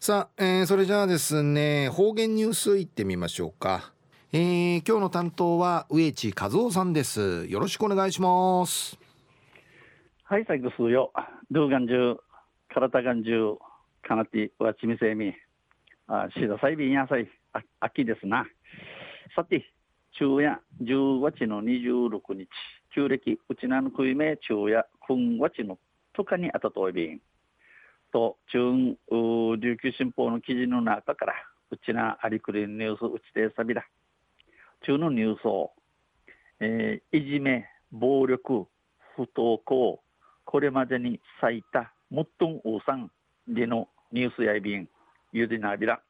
さあ、それじゃあですね、方言ニュースいってみましょうか。今日の担当は植地和夫さんです。よろしくお願いします。 はい、最後数よ。ルーガンジュ、カラタガンジュ、カナティ、ワチミセミ、シダサイビンヤサイ、秋ですな。さて、昼夜10月の26日、旧暦、うちなのくいめ、昼夜、今月のとかにあたといびん。と、中琉球新報の記事の中から、うちなありくりニュースうちてさびら。中のニュースを、いじめ、暴力、不登校、これまでに最多、もっとんうさんでのニュースやいびん、ゆでなびら。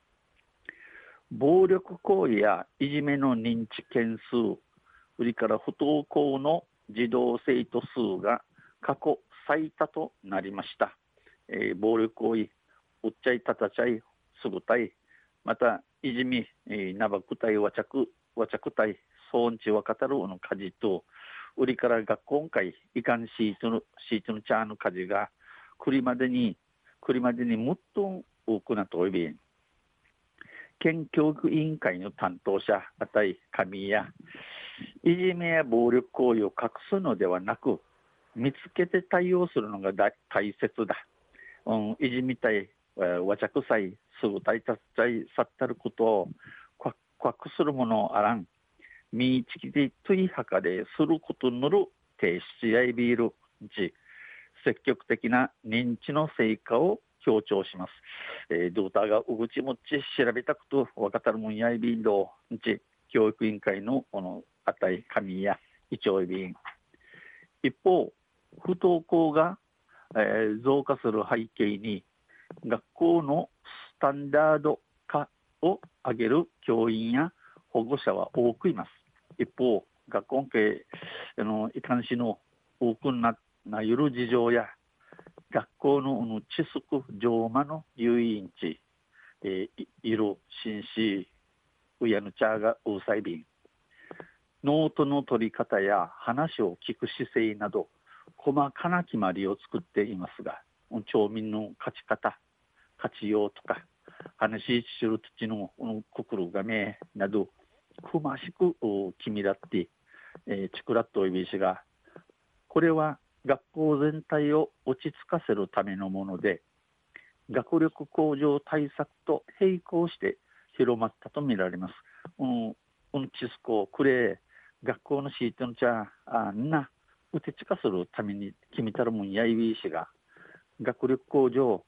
暴力行為やいじめの認知件数、それから不登校の児童生徒数が過去最多となりました。暴力行為、うっちゃいたたちゃい、すぐたい、また、いじみ、なばくたい、わちゃくたい、そうんちわかたるのかじと、売りから学校会、いかんシートのチャーの家事が、くりまでにもっと多くなといびん。県教育委員会の担当者、あたい、神や、いじめや暴力行為を隠すのではなく、見つけて対応するのが大切だ。いじみたい、わちゃくさい、すぐたいたっちゃい、さったることを、隠するものをあらん。みちきでといはかですることのる提出やいビールち積極的な認知の成果を強調します。ドーターがうぐちもっち調べたことわかたるもんやいビールをち教育委員会のこのあたい神や一応いびん。一方、不登校が、増加する背景に学校のスタンダード化を上げる教員や保護者は多くいます。一方、学校系いかんしの多くなゆる事情や学校の知識上魔の遊園地、いる紳士うやぬちゃがうさいびんノートの取り方や話を聞く姿勢など細かな決まりを作っていますが、町民の勝ち方、活用とか話しする土の心がめなどくましく決めだって、チクラッといびしが、これは学校全体を落ち着かせるためのもので、学力向上対策と並行して広まったとみられます。チスコクレ学校のシートのちゃうてちかするために決めたるもんやいびいしが学力向上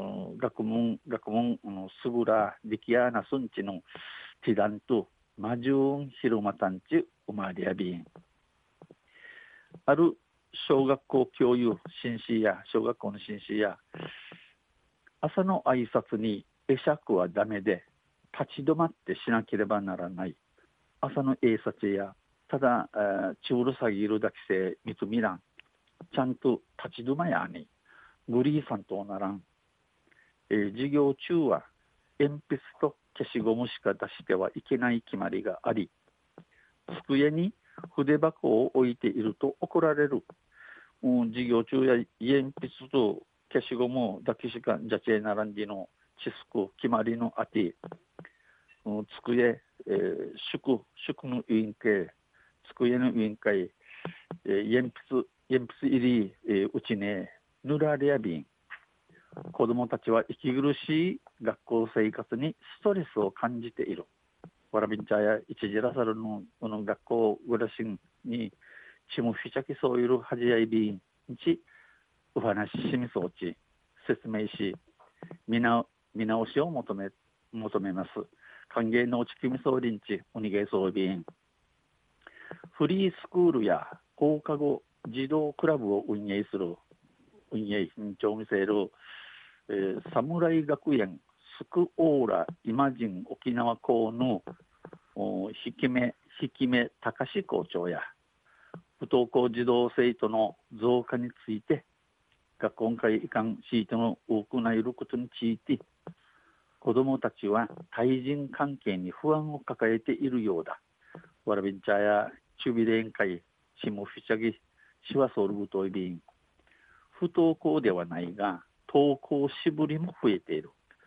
すぐら力やなすんちのティダンとマジューン広またんちうまりやびん。ある小学校教諭紳士や小学校の紳士や朝の挨拶に会釈はダメで立ち止まってしなければならない。朝の挨拶やただちうるさぎるだけせみつみらんちゃんと立ち止まやにグリーさんとならん、授業中は鉛筆と消しゴムしか出してはいけない決まりがあり、机に筆箱を置いていると怒られる。授業中や鉛筆と消しゴムだけしかじゃちえならんじの知識決まりのあて、机、宿の委員会、机の委員会、鉛筆入り、うちね、ぬられやびん。子どもたちは息苦しい学校生活にストレスを感じている。わらびんちゃや一時らさるの学校暮らしにちむふちゃきそういうはじやいびんちお話ししみそうち説明し見直しを求めます。歓迎のうちきみそうりんちおにげそうびん。フリースクールや放課後児童クラブを運営委員長を見せる、侍学園スクオーライマジン沖縄校のひきめ高志校長や不登校児童生徒の増加について学校会移管シートの多くないることについて子どもたちは対人関係に不安を抱えているようだ。わらびんちゃやチュビレン会しもふちゃぎしわソルブトイビン不登校ではないが登校しぶりも増えている。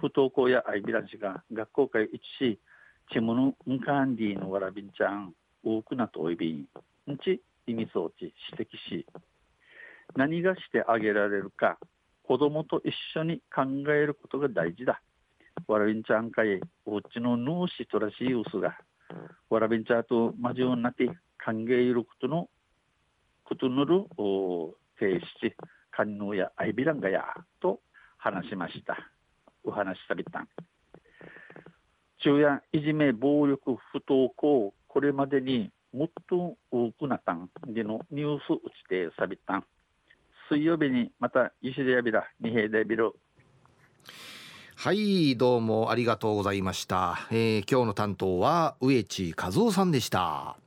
不登校やアイビランシが学校会一しチムヌンカンディのわらびんちゃん多くなとおいびんち意味装置指摘し、何がしてあげられるか子供と一緒に考えることが大事だ。わらびんちゃんかいおうちのヌーシとらしいウスがわらびんちゃんとマジオになって考えることのる停止カンヌーやアイビランガやと話しました。お話しさびたん昼夜いじめ暴力不登校これまでにもっと多くなったんでのニュース打ちてさびたん水曜日にまた石でやびら二平でびる。 はい、どうもありがとうございました。今日の担当は植地和夫さんでした。